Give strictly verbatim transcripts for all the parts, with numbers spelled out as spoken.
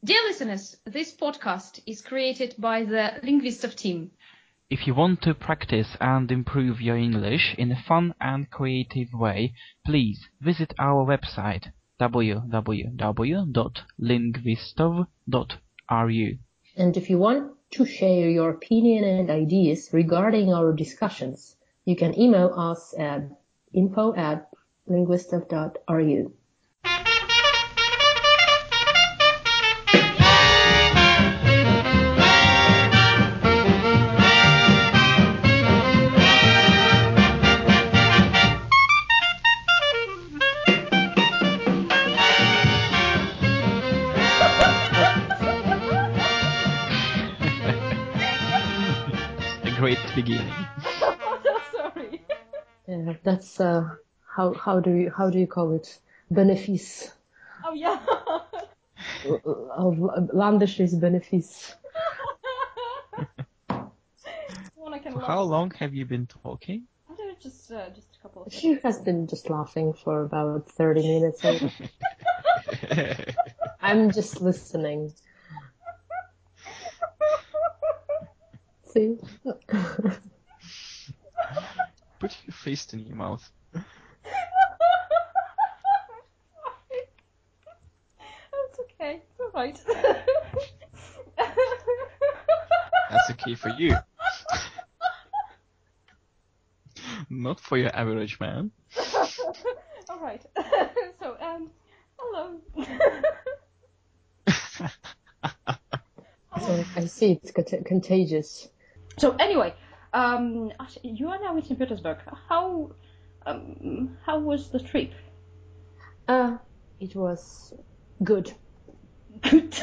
Dear listeners, this podcast is created by the Linguistov team. If you want to practice and improve your English in a fun and creative way, please visit our website w w w dot linguistov dot r u. And if you want to share your opinion and ideas regarding our discussions, you can email us at info at linguistov dot r u. Great beginning. Oh, sorry. Yeah, that's uh, how how do you how do you call it? Benefice. Oh, yeah. Of landisches Benefice. Well, I can For laugh. how long have you been talking? I don't know, just, uh, just a couple of She has been just laughing for about thirty minutes. Or... I'm just listening. See? Put your fist in your mouth. That's okay. It's all right. That's okay for you. Not for your average man. All right. So, um, hello. So I see it's cont- contagious. So anyway, um, you are now in Saint Petersburg. How, um, how was the trip? Uh, it was good. Good.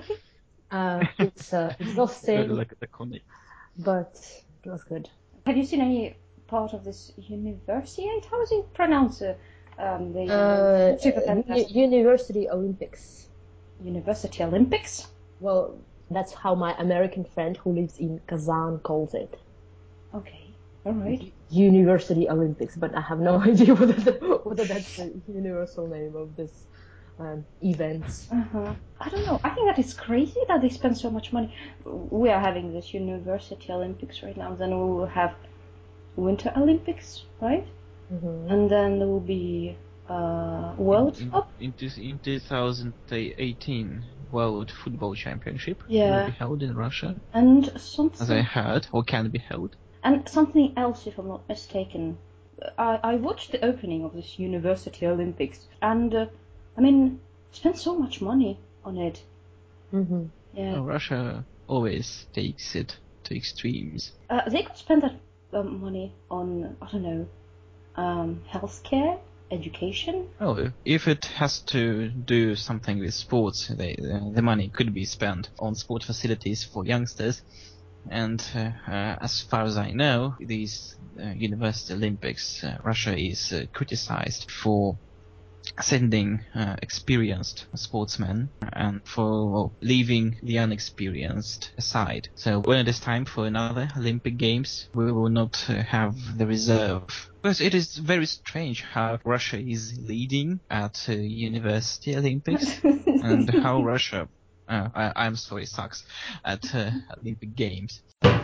Uh, it's uh, exhausting, Good luck at the conic. but it was good. Have you seen any part of this Universiade? How is it pronounced? Uh, um, the Uh, Super uni- Fantastic University Olympics. University Olympics? Well, that's how my American friend who lives in Kazan calls it. Okay, all right. University Olympics, but I have no idea whether, the, whether that's the universal name of this um, event. Uh-huh. I don't know. I think that is crazy that they spend so much money. We are having this University Olympics right now. Then we will have Winter Olympics, right? Mm-hmm. And then there will be uh, World in, Cup. In, in two thousand eighteen World Football Championship Yeah. will be held in Russia, And as I something heard, or can be held. and something else, if I'm not mistaken. I, I watched the opening of this University Olympics, and uh, I mean, spent so much money on it. Mm-hmm. Yeah. Oh, Russia always takes it to extremes. Uh, they could spend that um, money on, I don't know, um, healthcare, education. Oh, if it has to do something with sports, they, uh, the money could be spent on sport facilities for youngsters. And uh, uh, as far as I know, these uh, University Olympics, uh, Russia is uh, criticized for sending uh, experienced sportsmen and for leaving the unexperienced aside. So when it is time for another Olympic Games, we will not uh, have the reserve. Because it is very strange how Russia is leading at uh, University Olympics and how Russia, uh, I, I'm sorry, sucks at uh, Olympic Games.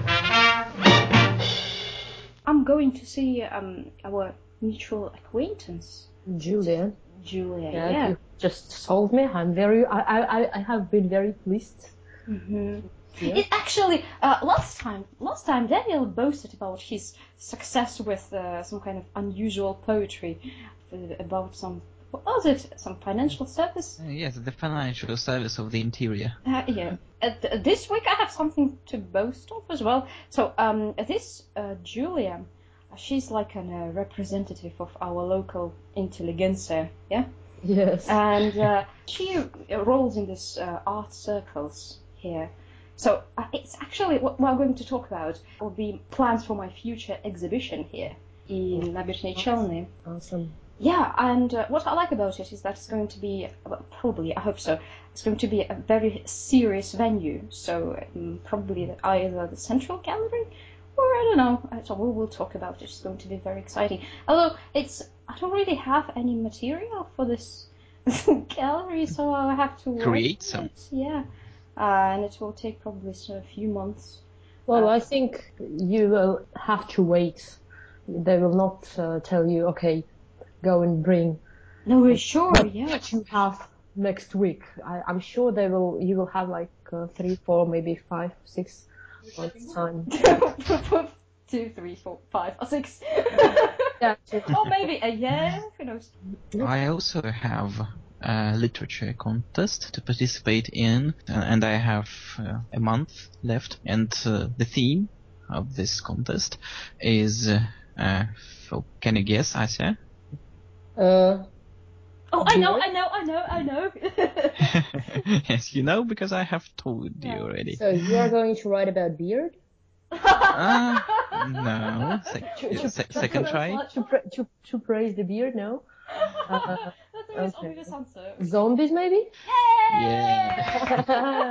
I'm going to see um, our mutual acquaintance, Julia. Julia. Yeah, Yeah. you just solved me. I'm very. I I I have been very pleased. Mm-hmm. Yeah. It actually, uh, last time, last time Daniel boasted about his success with uh, some kind of unusual poetry uh, about some, what was it? Some financial service? Uh, yes, the financial service of the interior. Uh, yeah. Uh, th- this week I have something to boast of as well. So, um, this uh, Julia, she's like a uh, representative of our local intelligentsia, yeah? Yes. And uh, she rolls in this uh, art circles here. So uh, it's actually what we're going to talk about will be plans for my future exhibition here in Nabizhny Chelny. Awesome. Yeah, and uh, what I like about it is that it's going to be, well, probably, I hope so, it's going to be a very serious venue. So um, probably either the Central Gallery or I don't know. So we will talk about it. It's going to be very exciting. Although it's, I don't really have any material for this gallery, so I have to Create work some. it, yeah. Uh, and it will take probably a few months. Well, Uh, I think you will have to wait. They will not uh, tell you, okay, go and bring No, we're sure, what, yeah. what you have next week. I, I'm sure they will. You will have like uh, three, four, maybe five, six months time. Two, three, four, five, or six. Yeah, two. Or maybe a year, who knows. I also have a literature contest to participate in, uh, and I have uh, a month left. And uh, the theme of this contest is, uh, uh, for, can you guess, Asya? Uh, Oh, I know, beard? I know, I know, I know. Yes, you know, because I have told you Yeah. already. So you are going to write about beard? Uh, no. Sec- To- to- se- second That's try. not- To, pra- to, to praise the beard? No. Uh, That's the most okay. obvious answer. Zombies, maybe? Yeah.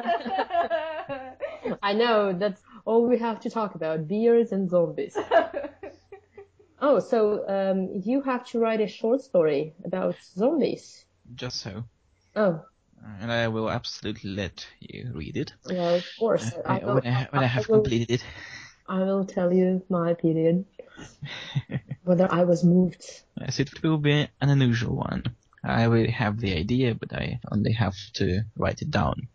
I know, that's all we have to talk about, beards and zombies. Oh, so um, you have to write a short story about zombies. Just so. Oh, And I will absolutely let you read it. well, of course. Uh, I, will, when, I, when I have will, completed it. I will tell you my opinion, whether I was moved. Yes, it will be an unusual one. I will have the idea, but I only have to write it down.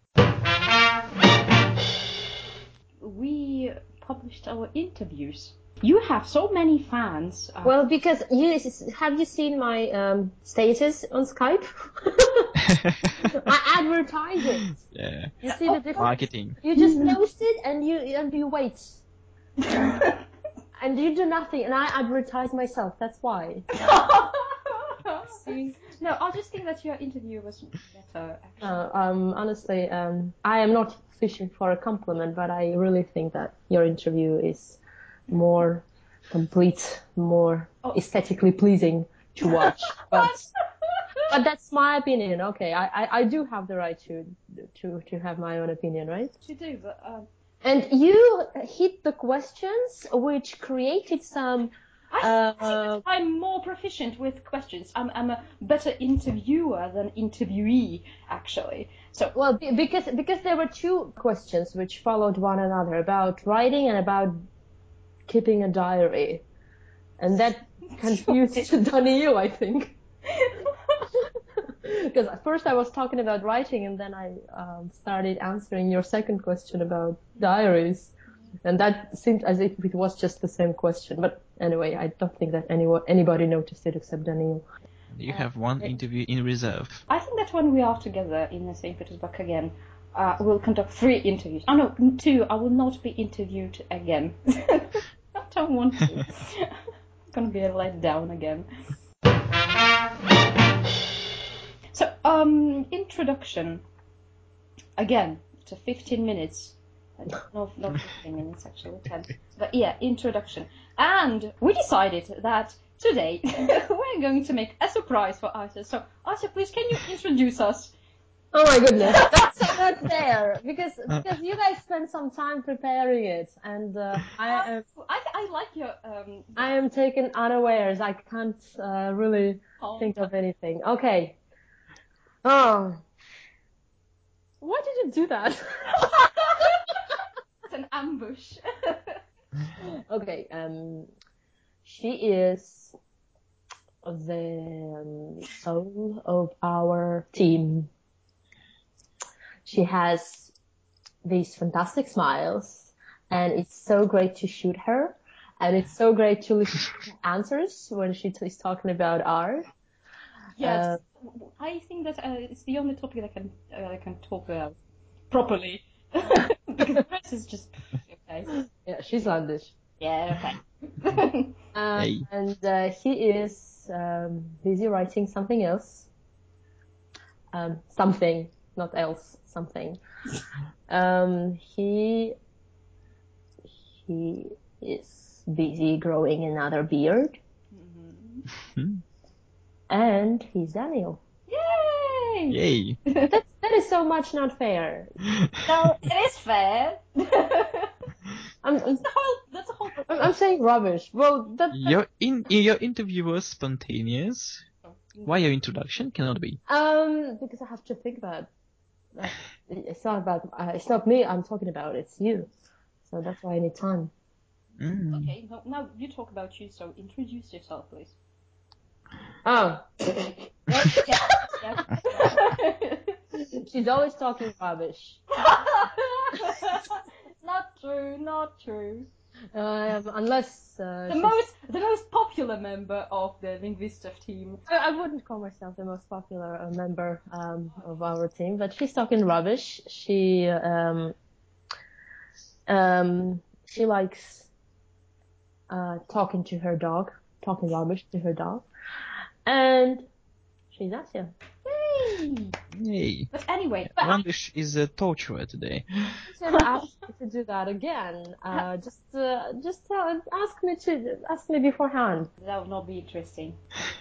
We published our interviews. You have so many fans. Uh, Well, because you have you seen my um, status on Skype? I advertise it. Yeah. You see the difference? Marketing. You just post it and you and you wait. And you do nothing, and I advertise myself. That's why. See? No, I just think that your interview was better. Actually. Uh, um, honestly, um, I am not fishing for a compliment, but I really think that your interview is more complete, more Oh. aesthetically pleasing to watch. But but that's my opinion. Okay, I, I, I do have the right to to to have my own opinion, right? You do, but um, And you hit the questions, which created some. I Uh, think that I'm more proficient with questions. I'm I'm a better interviewer than interviewee, actually. So Well, be- because because there were two questions which followed one another about writing and about keeping a diary, and that confused Daniel, I think. Because at first I was talking about writing, and then I um, started answering your second question about diaries, and that seemed as if it was just the same question. But anyway, I don't think that anyone anybody noticed it except Daniel. You have one interview in reserve. I think that when we are together in Saint Petersburg again, uh, we'll conduct three interviews. Oh no, two. I will not be interviewed again. I don't want to. I'm gonna be let down again. So, um, introduction. Again, to fifteen minutes. No, not fifteen minutes, actually, ten. But yeah, introduction. And we decided that today we're going to make a surprise for Asya. So, Asya, please, can you introduce us? Oh my goodness, that's so not fair, because because you guys spent some time preparing it, and uh, I am I, I like your... Um, I am taken unawares. I can't uh, really Oh. think of anything. Okay. Oh, why did you do that? It's an ambush. Okay. Um, she is the um, soul of our team. She has these fantastic smiles, and it's so great to shoot her, and it's so great to listen to her answers when she is talking about art. Yes, Uh, I think that uh, it's the only topic that I can uh, I can talk about properly. Because the rest is just okay. Yeah, she's Landish. Yeah, okay. Uh, Hey. And uh, he is um, busy writing something else. Um, something, not else, something. Um, he he is busy growing another beard, Hmm. and he's Daniel. Yay! Yay. That that is so much not fair. No, it is fair. I'm That's I'm, the whole. That's the whole. I'm saying rubbish. Well, that, that Your in your interview was spontaneous. Why your introduction cannot be? Um, because I have to think about. Uh, it's not about. Uh, it's not me. I'm talking about. It's you. So that's why I need time. Mm. Okay, now, now you talk about you, so introduce yourself, please. Oh. Yes, yes, yes. She's always talking rubbish. Not true, not true. Uh, unless uh, The she's- most, the most popular member of the Linguistov team. I, I wouldn't call myself the most popular uh, member um, of our team, but she's talking rubbish. She um, um, she likes uh, talking to her dog, talking rubbish to her dog, and she's Asya. Yay! Yay. But anyway, but I, Randish is a torturer today. Don't ever ask me to do that again. Uh, just uh, just uh, ask me to ask me beforehand. that would not be interesting.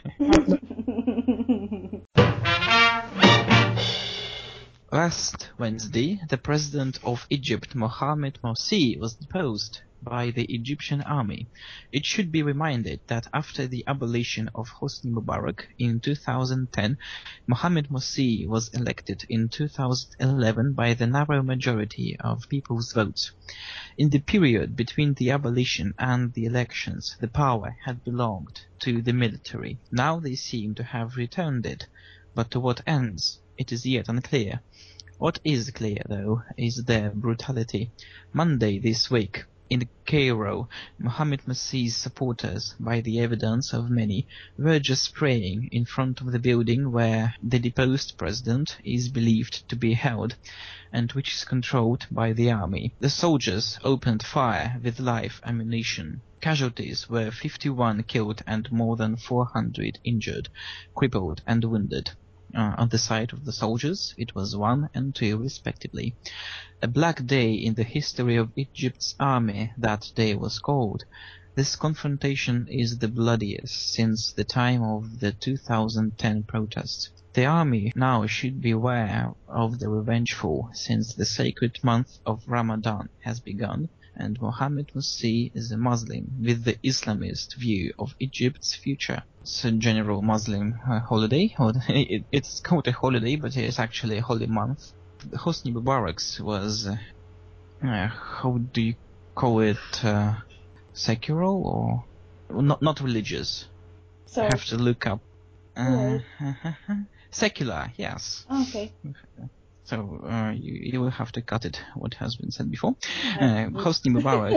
Last Wednesday, the president of Egypt, Mohamed Morsi, was deposed by the Egyptian army. It should be reminded that after the abolition of Hosni Mubarak in two thousand ten, Mohamed Morsi was elected in two thousand eleven by the narrow majority of people's votes. In the period between the abolition and the elections, the power had belonged to the military. Now they seem to have returned it, but to what ends? It is yet unclear. What is clear, though, is their brutality. Monday this week, in Cairo, Mohamed Morsi's supporters, by the evidence of many, were just praying in front of the building where the deposed president is believed to be held, and which is controlled by the army. The soldiers opened fire with live ammunition. Casualties were fifty-one killed and more than four hundred injured, crippled and wounded. Uh, on the side of the soldiers, it was one and two respectively. A black day in the history of Egypt's army, that day was called. This confrontation is the bloodiest since the time of the two thousand ten protests. The army now should be aware of the revengeful, since the sacred month of Ramadan has begun, and Mohamed Morsi is a Muslim with the Islamist view of Egypt's future. It's a general Muslim uh, holiday. It, it's called a holiday, but it's actually a holy month. Hosni Mubarak was, uh, uh, how do you call it, uh, secular or not? Not religious. so, I have to look up. Uh, Right. secular, yes. okay. So uh, you, you will have to cut it. What has been said before. Uh, Right. Hosni Mubarak.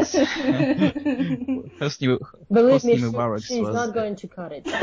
Hosni, Believe me, Hosni she, Mubarak she's was. not going to cut it.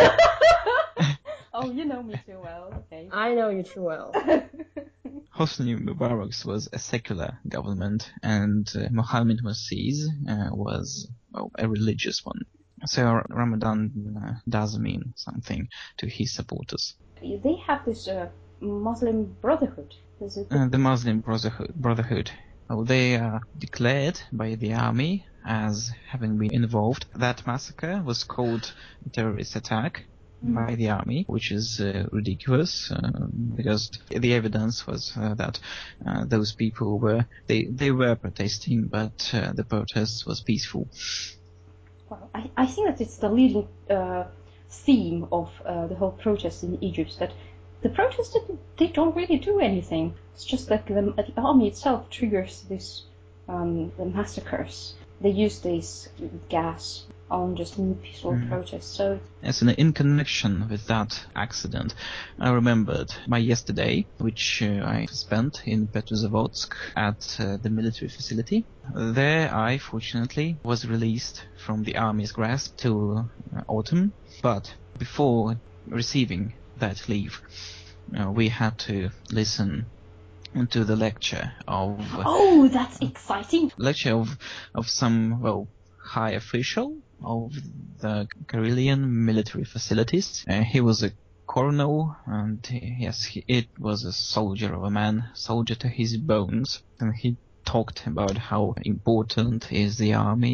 Oh, you know me too well. Okay. I know you too well. Hosni Mubarak was a secular government, and uh, Mohamed Morsi's uh, was well, a religious one. So Ramadan uh, does mean something to his supporters. They have this uh, Muslim Brotherhood. Is it? Uh, the Muslim Brotherhood. Brotherhood. Well, they are declared by the army as having been involved. That massacre was called a terrorist attack by the army, which is uh, ridiculous uh, because the evidence was uh, that uh, those people were they they were protesting, but uh, the protest was peaceful. Well, I, I think that it's the leading uh, theme of uh, the whole protest in Egypt, that the protests, they don't really do anything. It's just that the, the army itself triggers this um, the massacres. They use this gas on just peaceful Mm. protests. So As in, in connection with that accident, I remembered my yesterday, which uh, I spent in Petrozavodsk at uh, the military facility. There I, fortunately, was released from the army's grasp till uh, autumn, but before receiving that leave, uh, we had to listen to the lecture of oh, that's exciting. lecture of of some well high official of the Karelian military facilities. Uh, he was a colonel, and he, yes, he, it was a soldier of a man, soldier to his bones, and he talked about how important is the army,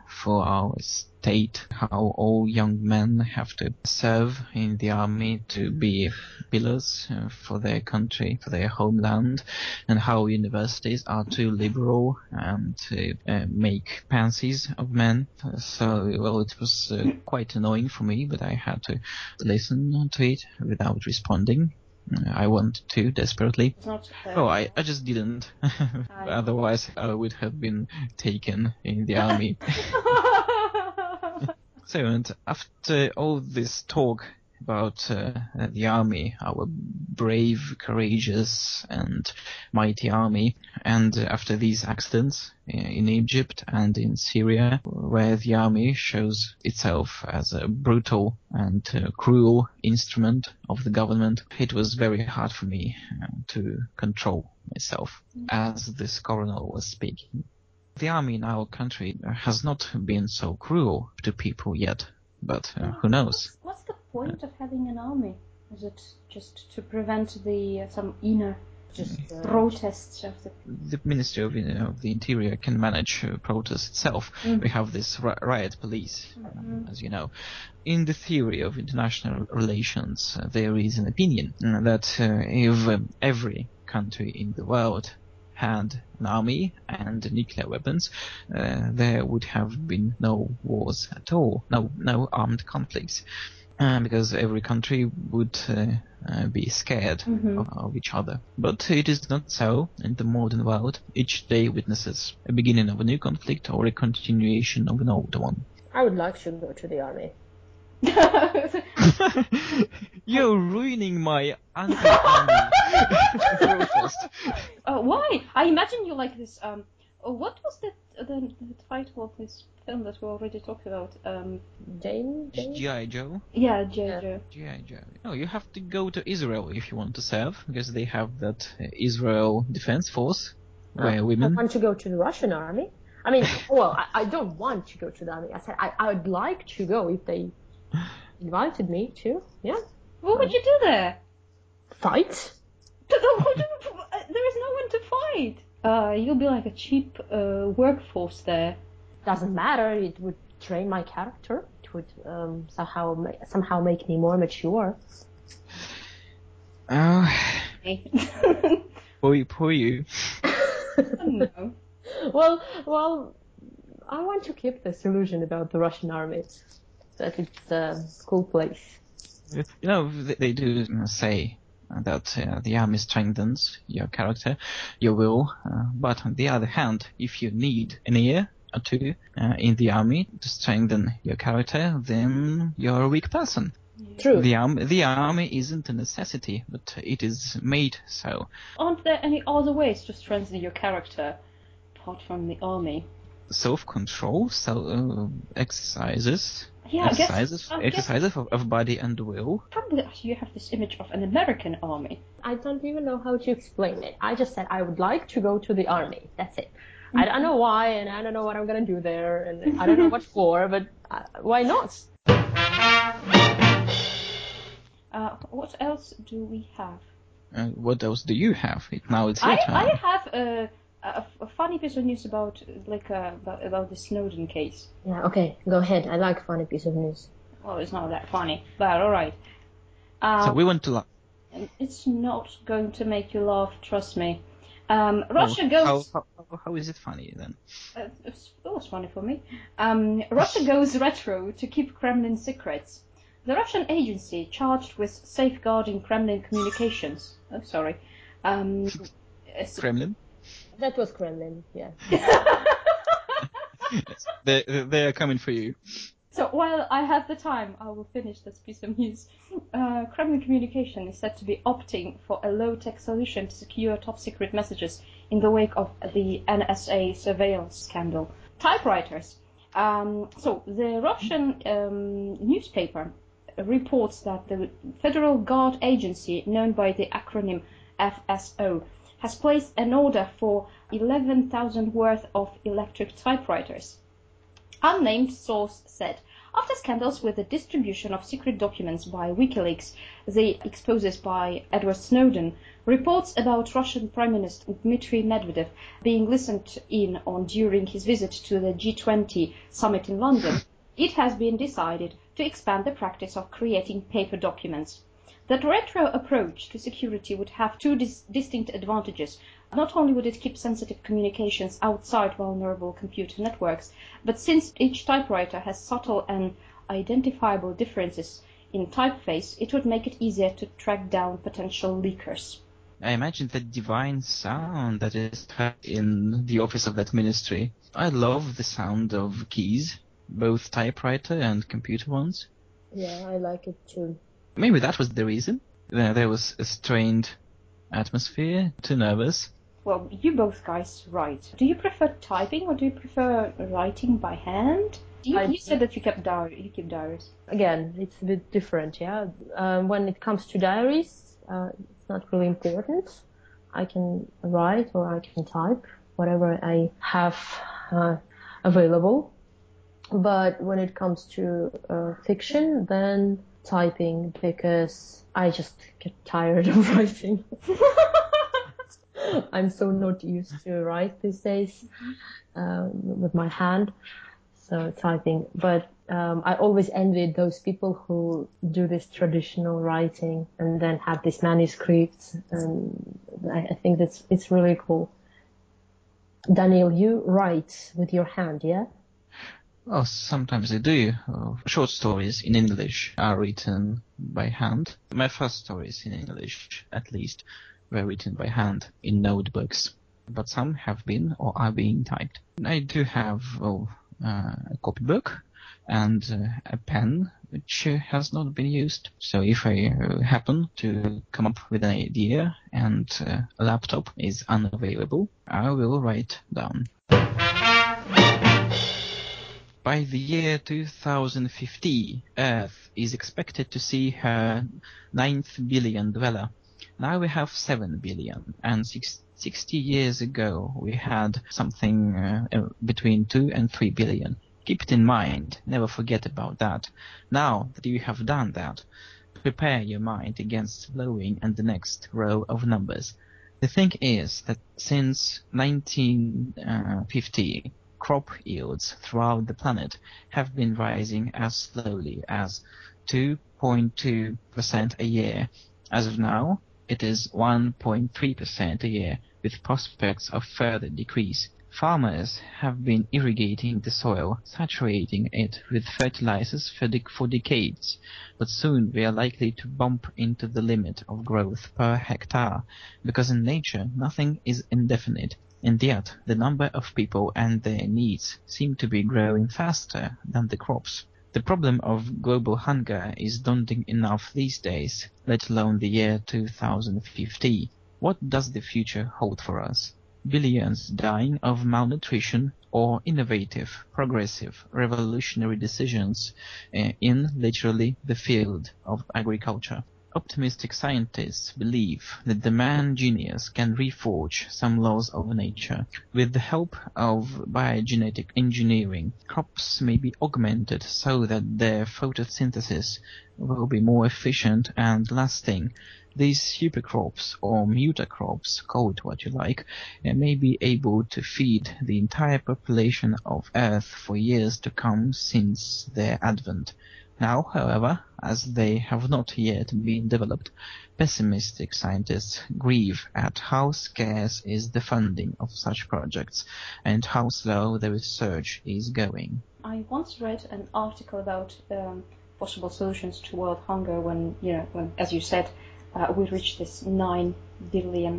for our state, how all young men have to serve in the army to be pillars uh, for their country, for their homeland, and how universities are too liberal and to uh, make pansies of men. So, well, it was uh, quite annoying for me, but I had to listen to it without responding. I wanted to desperately. It's not, uh, Oh, I, I just didn't. Otherwise, I would have been taken in the army. So, and after all this talk about uh, the army, our brave, courageous, and mighty army, and after these accidents in Egypt and in Syria, where the army shows itself as a brutal and uh, cruel instrument of the government, it was very hard for me uh, to control myself as this coronel was speaking. The army in our country has not been so cruel to people yet, but uh, who knows? What's, what's the point of having an army? Is it just to prevent the uh, some inner just uh, protests of the... The Ministry of, of the Interior can manage uh, protests itself. Mm-hmm. We have this ri- riot police, mm-hmm. uh, as you know. In the theory of international relations, uh, there is an opinion uh, that uh, if um, every country in the world had an army and nuclear weapons, uh, there would have been no wars at all, no no armed conflicts, uh, because every country would uh, uh, be scared mm-hmm. of, of each other. But it is not so in the modern world. Each day witnesses a beginning of a new conflict or a continuation of an old one. I would like to go to the army. You're ruining my anti-army protest. Uh, why? I imagine you like this. Um, what was the, the the title of this film that we already talked about? Um, Jane. G I. Joe. Yeah, G I. Joe. G I. Joe. No, you have to go to Israel if you want to serve, because they have that uh, Israel Defense Force where oh, women. I want to go to the Russian army. I mean, well, I, I don't want to go to the army. I said I I would like to go if they invited me to. Yeah. What would you do there? Fight. There is no one to fight. Uh, you'll be like a cheap uh, workforce there. Doesn't matter. It would train my character. It would um, somehow ma- somehow make me more mature. Oh. Poor, poor you. No. Well, well, I want to keep this illusion about the Russian army, that it's a cool place. You know, they do say that uh, the army strengthens your character, your will, uh, but on the other hand, if you need an year or two uh, in the army to strengthen your character, then you're a weak person. True. The, arm- the army isn't a necessity, but it is made so. Aren't there any other ways to strengthen your character apart from the army? Self-control, so uh, exercises, yeah, exercises, I guess, I exercises guess of, of body and will. Probably you have this image of an American army. I don't even know how to explain it. I just said I would like to go to the army. That's it. Mm-hmm. I don't know why, and I don't know what I'm gonna do there, and I don't know what for, but uh, why not? Uh, what else do we have? Uh, what else do you have? It, now it's your I, turn. I have a, a, a funny piece of news about like uh, about, about the Snowden case. Yeah, okay, go ahead. I like funny piece of news. Well, it's not that funny, but all right. Um, so we want to laugh. It's not going to make you laugh, trust me. Um, Russia oh, goes... How, how, how is it funny, then? Uh, it was funny for me. Um, Russia goes retro to keep Kremlin secrets. The Russian agency charged with safeguarding Kremlin communications... Oh, sorry. Um, Kremlin? That was Kremlin, yeah. yes, they, they are coming for you. So while I have the time, I will finish this piece of news. Uh, Kremlin Communication is said to be opting for a low-tech solution to secure top-secret messages in the wake of the N S A surveillance scandal. Typewriters. Um, so the Russian um, newspaper reports that the Federal Guard Agency, known by the acronym F S O, has placed an order for eleven thousand worth of electric typewriters. Unnamed source said, after scandals with the distribution of secret documents by WikiLeaks, the exposes by Edward Snowden, reports about Russian Prime Minister Dmitry Medvedev being listened in on during his visit to the G twenty summit in London, it has been decided to expand the practice of creating paper documents. That retro approach to security would have two dis- distinct advantages. Not only would it keep sensitive communications outside vulnerable computer networks, but since each typewriter has subtle and identifiable differences in typeface, it would make it easier to track down potential leakers. I imagine the divine sound that is heard in the office of that ministry. I love the sound of keys, both typewriter and computer ones. Yeah, I like it too. Maybe that was the reason. There was a strained atmosphere, too nervous. Well, you both guys write. Do you prefer typing or do you prefer writing by hand? You, you said that you kept diary, you keep diaries. Again, it's a bit different, yeah. Um, when it comes to diaries, uh, it's not really important. I can write or I can type, whatever I have uh, available. But when it comes to uh, fiction, then typing, because I just get tired of writing. I'm so not used to write these days um, with my hand, so typing. But um, I always envied those people who do this traditional writing and then have these manuscripts, and I, I think that's it's really cool. Daniel, you write with your hand, yeah? Oh, sometimes I do. Uh, short stories in English are written by hand. My first stories in English, at least, were written by hand in notebooks. But some have been or are being typed. I do have oh, uh, a copybook and uh, a pen which uh, has not been used. So if I uh, happen to come up with an idea and uh, a laptop is unavailable, I will write down. By the year two thousand fifty, Earth is expected to see her ninth billion dweller. Now we have seven billion, and six, sixty years ago we had something uh, between two and three billion. Keep it in mind, never forget about that. Now that you have done that, prepare your mind against blowing and the next row of numbers. The thing is that since nineteen fifty, crop yields throughout the planet have been rising as slowly as two point two percent a year. As of now, it is one point three percent a year, with prospects of further decrease. Farmers have been irrigating the soil, saturating it with fertilizers for, de- for decades, but soon we are likely to bump into the limit of growth per hectare, because in nature nothing is indefinite. And yet, the number of people and their needs seem to be growing faster than the crops. The problem of global hunger is daunting enough these days, let alone the year two thousand fifty. What does the future hold for us? Billions dying of malnutrition or innovative, progressive, revolutionary decisions uh, in literally the field of agriculture? Optimistic scientists believe that the man genius can reforge some laws of nature. With the help of biogenetic engineering, crops may be augmented so that their photosynthesis will be more efficient and lasting. These supercrops or mutacrops, call it what you like, may be able to feed the entire population of Earth for years to come since their advent. Now, however, as they have not yet been developed, pessimistic scientists grieve at how scarce is the funding of such projects and how slow the research is going. I once read an article about um, possible solutions to world hunger when, you know, when, as you said, uh, we reached this nine billion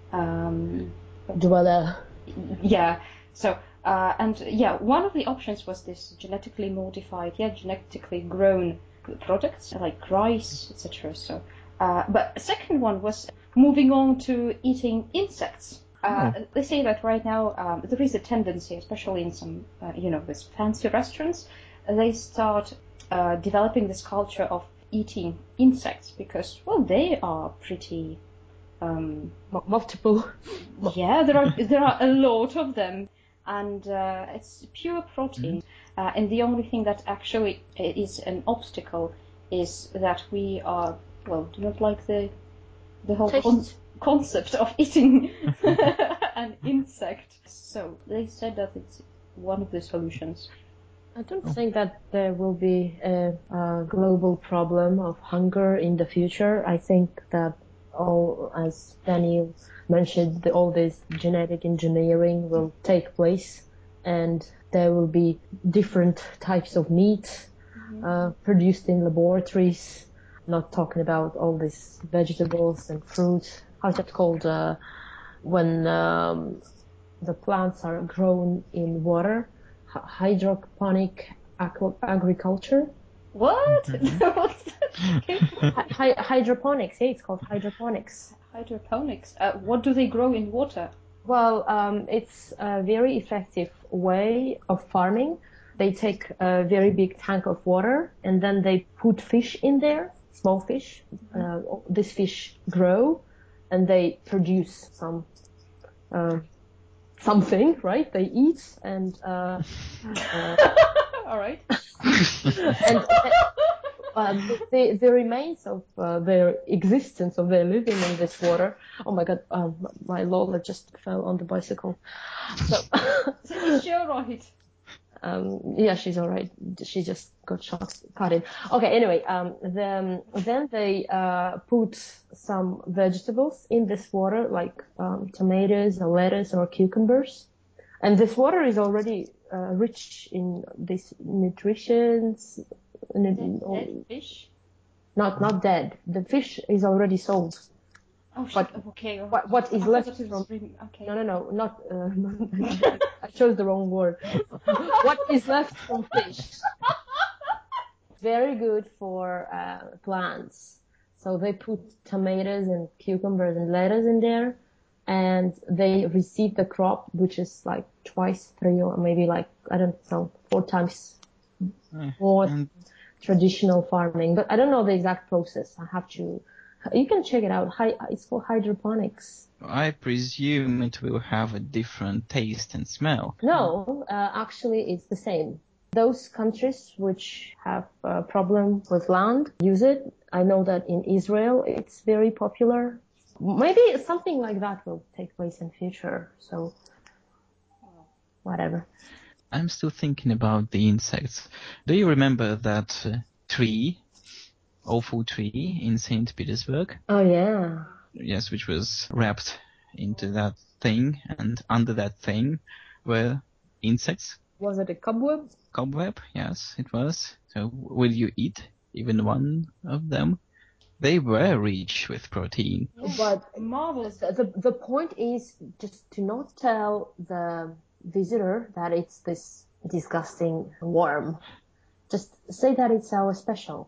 um, dweller. Yeah. So. Uh, and yeah, one of the options was this genetically modified, yeah, genetically grown products like rice, et cetera. So, uh, but the second one was moving on to eating insects. Uh, oh. They say that right now um, there is a tendency, especially in some, uh, you know, these fancy restaurants, they start uh, developing this culture of eating insects because, well, they are pretty um, multiple. Yeah, there are there are a lot of them. And uh, it's pure protein. Uh, and the only thing that actually is an obstacle is that we are, well, do not like the the whole con- concept of eating an insect. So they said that it's one of the solutions. I don't think that there will be a, a global problem of hunger in the future. I think that all, as Daniel mentioned, the, all this genetic engineering will take place, and there will be different types of meat mm-hmm. uh, produced in laboratories. Not talking about all these vegetables and fruits. How's that called? Uh, when um, the plants are grown in water. Hydroponic aqua- agriculture. What? Hy- hydroponics. Yeah, it's called hydroponics. Hydroponics. Uh, what do they grow in water? Well, um, it's a very effective way of farming. They take a very big tank of water and then they put fish in there, small fish. Mm-hmm. Uh, this fish grow and they produce some. Uh, Something, right? They eat and uh, uh all right. and uh, the the remains of uh, their existence, of their living in this water. Oh my God, um, my Lola just fell on the bicycle. So, is she all right? Um, yeah, she's all right. She just got shot, cut in. Okay, anyway, um, then, then they uh, put some vegetables in this water, like um, tomatoes or lettuce or cucumbers. And this water is already uh, rich in these nutrients. Dead, dead fish? Not, not dead. The fish is already sold. Oh, but okay. What, what is I left from? Really, okay. No, no, no, not. Uh, I chose the wrong word. What is left from fish? Very good for uh, plants. So they put tomatoes and cucumbers and lettuce in there, and they receive the crop, which is like twice, three, or maybe like I don't know, four times more mm. traditional farming. But I don't know the exact process. I have to. You can check it out. It's called hydroponics. I presume it will have a different taste and smell. No, uh, actually it's the same. Those countries which have a problem with land use it. I know that in Israel it's very popular. Maybe something like that will take place in future. So, whatever. I'm still thinking about the insects. Do you remember that uh, tree? Awful tree in Saint Petersburg. Oh, yeah. Yes, which was wrapped into that thing, and under that thing were insects. Was it a cobweb? Cobweb, yes, it was. So will you eat even one of them? They were rich with protein. Yeah. But marvelous. The, the point is just to not tell the visitor that it's this disgusting worm. Just say that it's our special.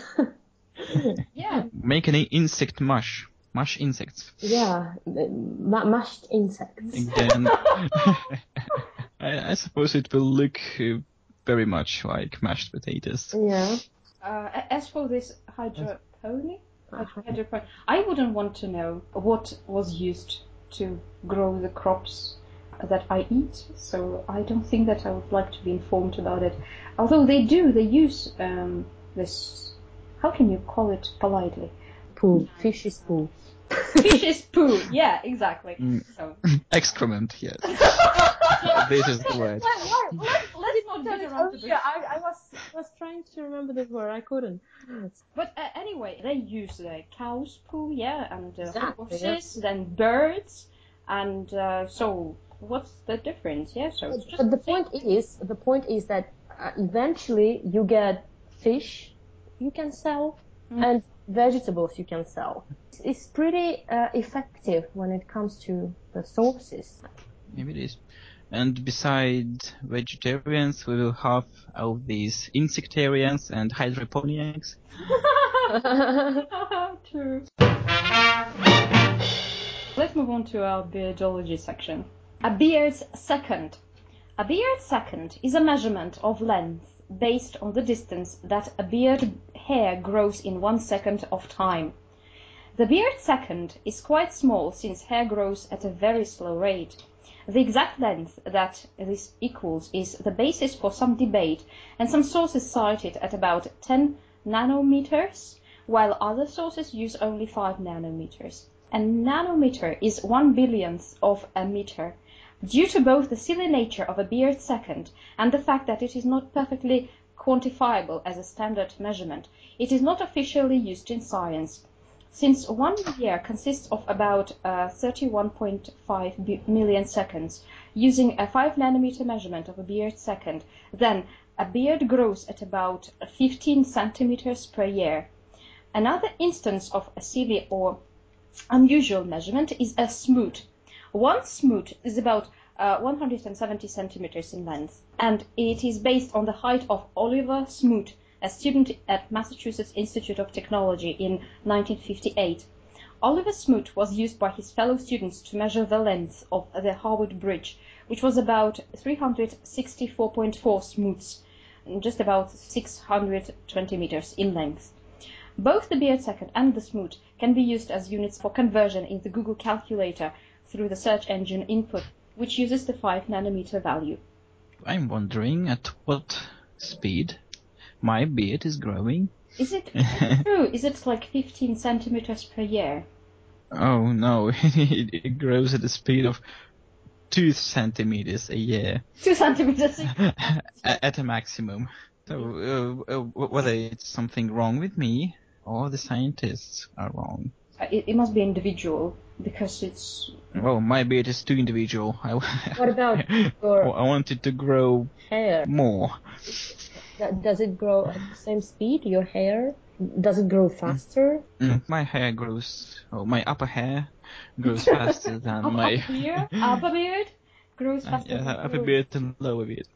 Yeah. Make any insect mush. Mush insects. Yeah, m- mashed insects. Again, I, I suppose it will look uh, very much like mashed potatoes. Yeah. Uh, as for this hydroponic, hydroponic, I wouldn't want to know what was used to grow the crops that I eat, so I don't think that I would like to be informed about it. Although they do, they use um, this. How can you call it politely? Poo. Fish is poo. Fish is poo. Yeah, exactly. Mm. So. Excrement. Yes. This is the word. Why, why, let, let's not get around to this. Yeah, I, I was was trying to remember the word. I couldn't. But uh, anyway, they use uh, cow's poo, yeah, and uh, exactly, horses, yeah. then birds, and uh, so what's the difference? Yeah. So. But, but the point is, the point is that uh, eventually you get fish. You can sell, mm. and vegetables you can sell. It's pretty uh, effective when it comes to the sources. Maybe it is. And besides vegetarians, we will have all these insectarians and hydroponics. True. Let's move on to our beardology section. A beard's second. A beard second is a measurement of length based on the distance that a beard hair grows in one second of time. The beard second is quite small since hair grows at a very slow rate. The exact length that this equals is the basis for some debate, and some sources cite it at about ten nanometers, while other sources use only five nanometers. A nanometer is one billionth of a meter. Due to both the silly nature of a beard second and the fact that it is not perfectly quantifiable as a standard measurement, it is not officially used in science. Since one year consists of about uh, thirty-one point five million seconds, using a five nanometer measurement of a beard second, then a beard grows at about fifteen centimeters per year. Another instance of a silly or unusual measurement is a smoot. One smoot is about uh, one hundred seventy centimeters in length, and it is based on the height of Oliver Smoot, a student at Massachusetts Institute of Technology in nineteen fifty-eight. Oliver Smoot was used by his fellow students to measure the length of the Harvard Bridge, which was about three hundred sixty-four point four smoots, just about six hundred twenty meters in length. Both the beard second and the smoot can be used as units for conversion in the Google calculator through the search engine input, which uses the five nanometer value. I'm wondering at what speed my beard is growing. Is it, is it true? Is it like fifteen centimeters per year? Oh no, it, it grows at the speed of two centimeters a year. Two centimeters a year. At a maximum. So uh, uh, whether it's something wrong with me or the scientists are wrong. It, it must be individual because it's. Well, my beard is too individual. I, What about your I want it to grow hair? more. Does it grow at the same speed, your hair? Does it grow faster? Mm, my hair grows, oh, my upper hair grows faster than upper my... beard? Upper beard? Grows faster uh, yeah, than upper beard and lower beard.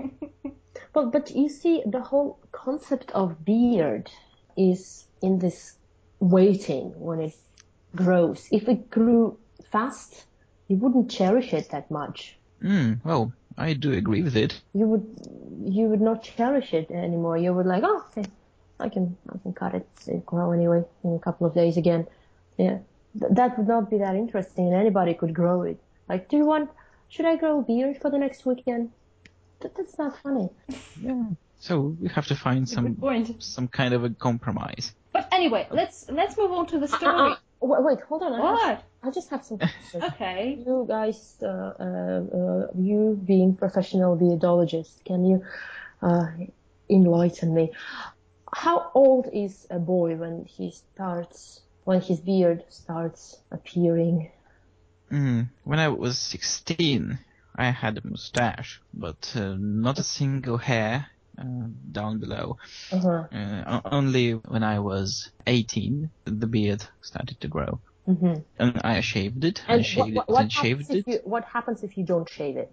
Well, but you see, the whole concept of beard is in this waiting when it grows. If it grew fast, you wouldn't cherish it that much. Mm, well, I do agree with it. You would, you would not cherish it anymore. You would like, oh, okay, I can, I can cut it. It'll grow anyway in a couple of days again. Yeah, Th- that would not be that interesting, and anybody could grow it. Like, do you want? Should I grow a beard for the next weekend? Th- that's not funny. Yeah. So we have to find Good some point. some kind of a compromise. But anyway, let's let's move on to the story. Uh, uh, wait, wait, hold on. I What? have- I just have some questions. Okay. You guys, uh, uh, uh, you being professional beardologists, can you uh, enlighten me? How old is a boy when he starts, when his beard starts appearing? Mm, when I was sixteen, I had a mustache, but uh, not a single hair uh, down below. Uh-huh. Uh, o- only when I was eighteen, the beard started to grow. Mm-hmm. And I shaved it, And I shaved what, it, what, and what happens shaved if it. you, what happens if you don't shave it?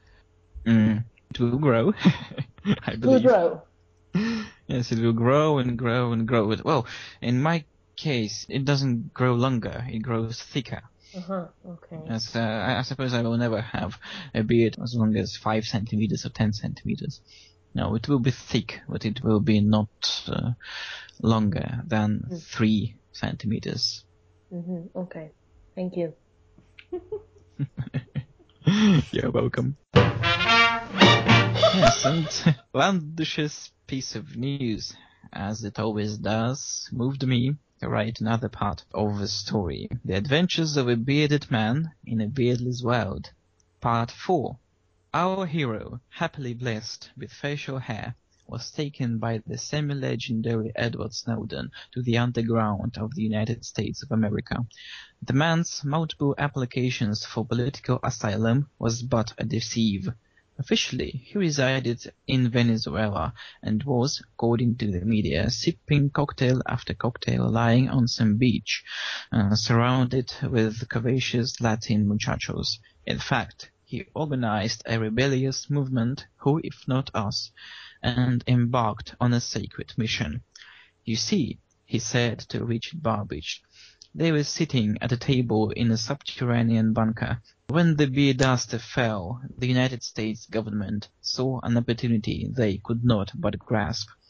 Mm, it will grow, I It will believe. grow. Yes, it will grow and grow and grow. Well, in my case, it doesn't grow longer, it grows thicker. Uh-huh. Okay. As, uh, I, I suppose I will never have a beard as long as five centimeters or ten centimeters. No, it will be thick, but it will be not uh, longer than Mm. three centimeters. Mm-hmm. Okay. Thank you. You're welcome. Yes, and Landish's piece of news, as it always does, moved me to write another part of the story. The Adventures of a Bearded Man in a Beardless World. Part four. Our hero, happily blessed with facial hair, was taken by the semi-legendary Edward Snowden to the underground of the United States of America. The man's multiple applications for political asylum was but a deceive. Officially, he resided in Venezuela and was, according to the media, sipping cocktail after cocktail lying on some beach, uh, surrounded with curvaceous Latin muchachos. In fact, he organized a rebellious movement, Who If Not Us, and embarked on a sacred mission. You see, he said to Richard Burbage, they were sitting at a table in a subterranean bunker. When the beer dust fell, the United States government saw an opportunity they could not but grasp.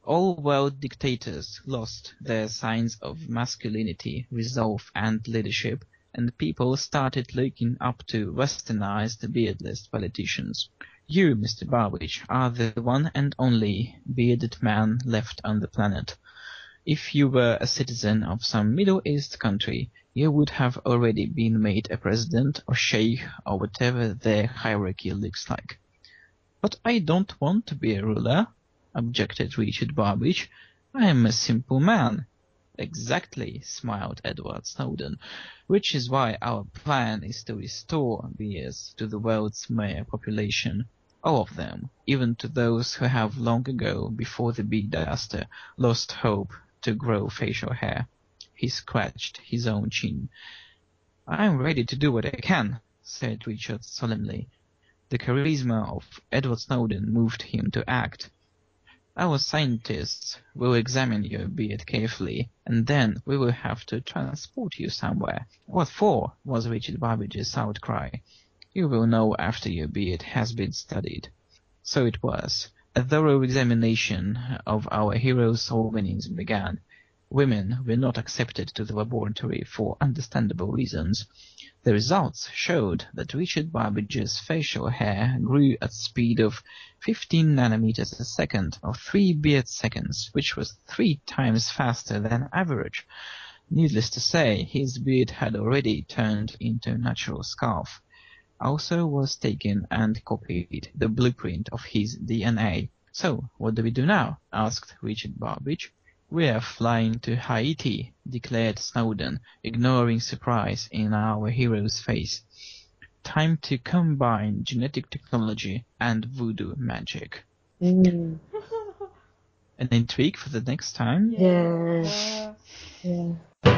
All world dictators lost their signs of masculinity, resolve, and leadership, and people started looking up to westernized, beardless politicians. You, Mister Babbage, are the one and only bearded man left on the planet. If you were a citizen of some Middle East country, you would have already been made a president or sheikh or whatever their hierarchy looks like. But I don't want to be a ruler, objected Richard Babbage. I am a simple man. Exactly, smiled Edward Snowden, which is why our plan is to restore beards to the world's male population. All of them, even to those who have long ago, before the big disaster, lost hope to grow facial hair. He scratched his own chin. I am ready to do what I can, said Richard solemnly. The charisma of Edward Snowden moved him to act. Our scientists will examine your beard carefully, and then we will have to transport you somewhere. What for? Was Richard Babbage's outcry. You will know after your beard has been studied. So it was. A thorough examination of our hero's organism began. Women were not accepted to the laboratory for understandable reasons. The results showed that Richard Babbage's facial hair grew at speed of fifteen nanometers a second, or three beard seconds, which was three times faster than average. Needless to say, his beard had already turned into a natural scarf. Also was taken and copied the blueprint of his D N A. So, what do we do now? Asked Richard Babbage. We are flying to Haiti, declared Snowden, ignoring surprise in our hero's face. Time to combine genetic technology and voodoo magic. Mm. An intrigue for the next time? Yeah. Yeah.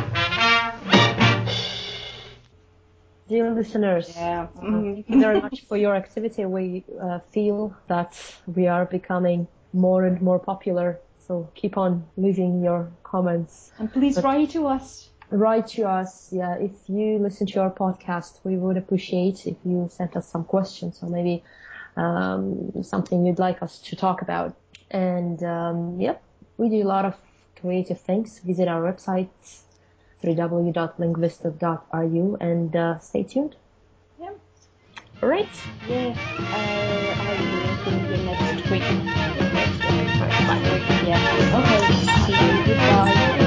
Dear listeners, Yeah. uh, thank you very much for your activity. We uh, feel that we are becoming more and more popular. So keep on leaving your comments. And please But write to us. Write to us. Yeah, if you listen to our podcast, we would appreciate if you sent us some questions or maybe um, something you'd like us to talk about. And um, yep, we do a lot of creative things. Visit our website, w w w dot linguistov dot r u, and uh, stay tuned. Yeah. All right. Yeah. Uh, I will see you next week. Next week. Bye. Yeah. Okay. See you. Goodbye.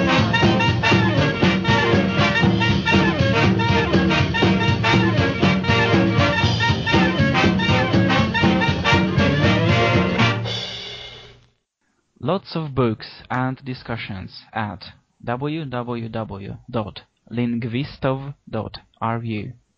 Lots of books and discussions at w w w dot linguistov dot r u.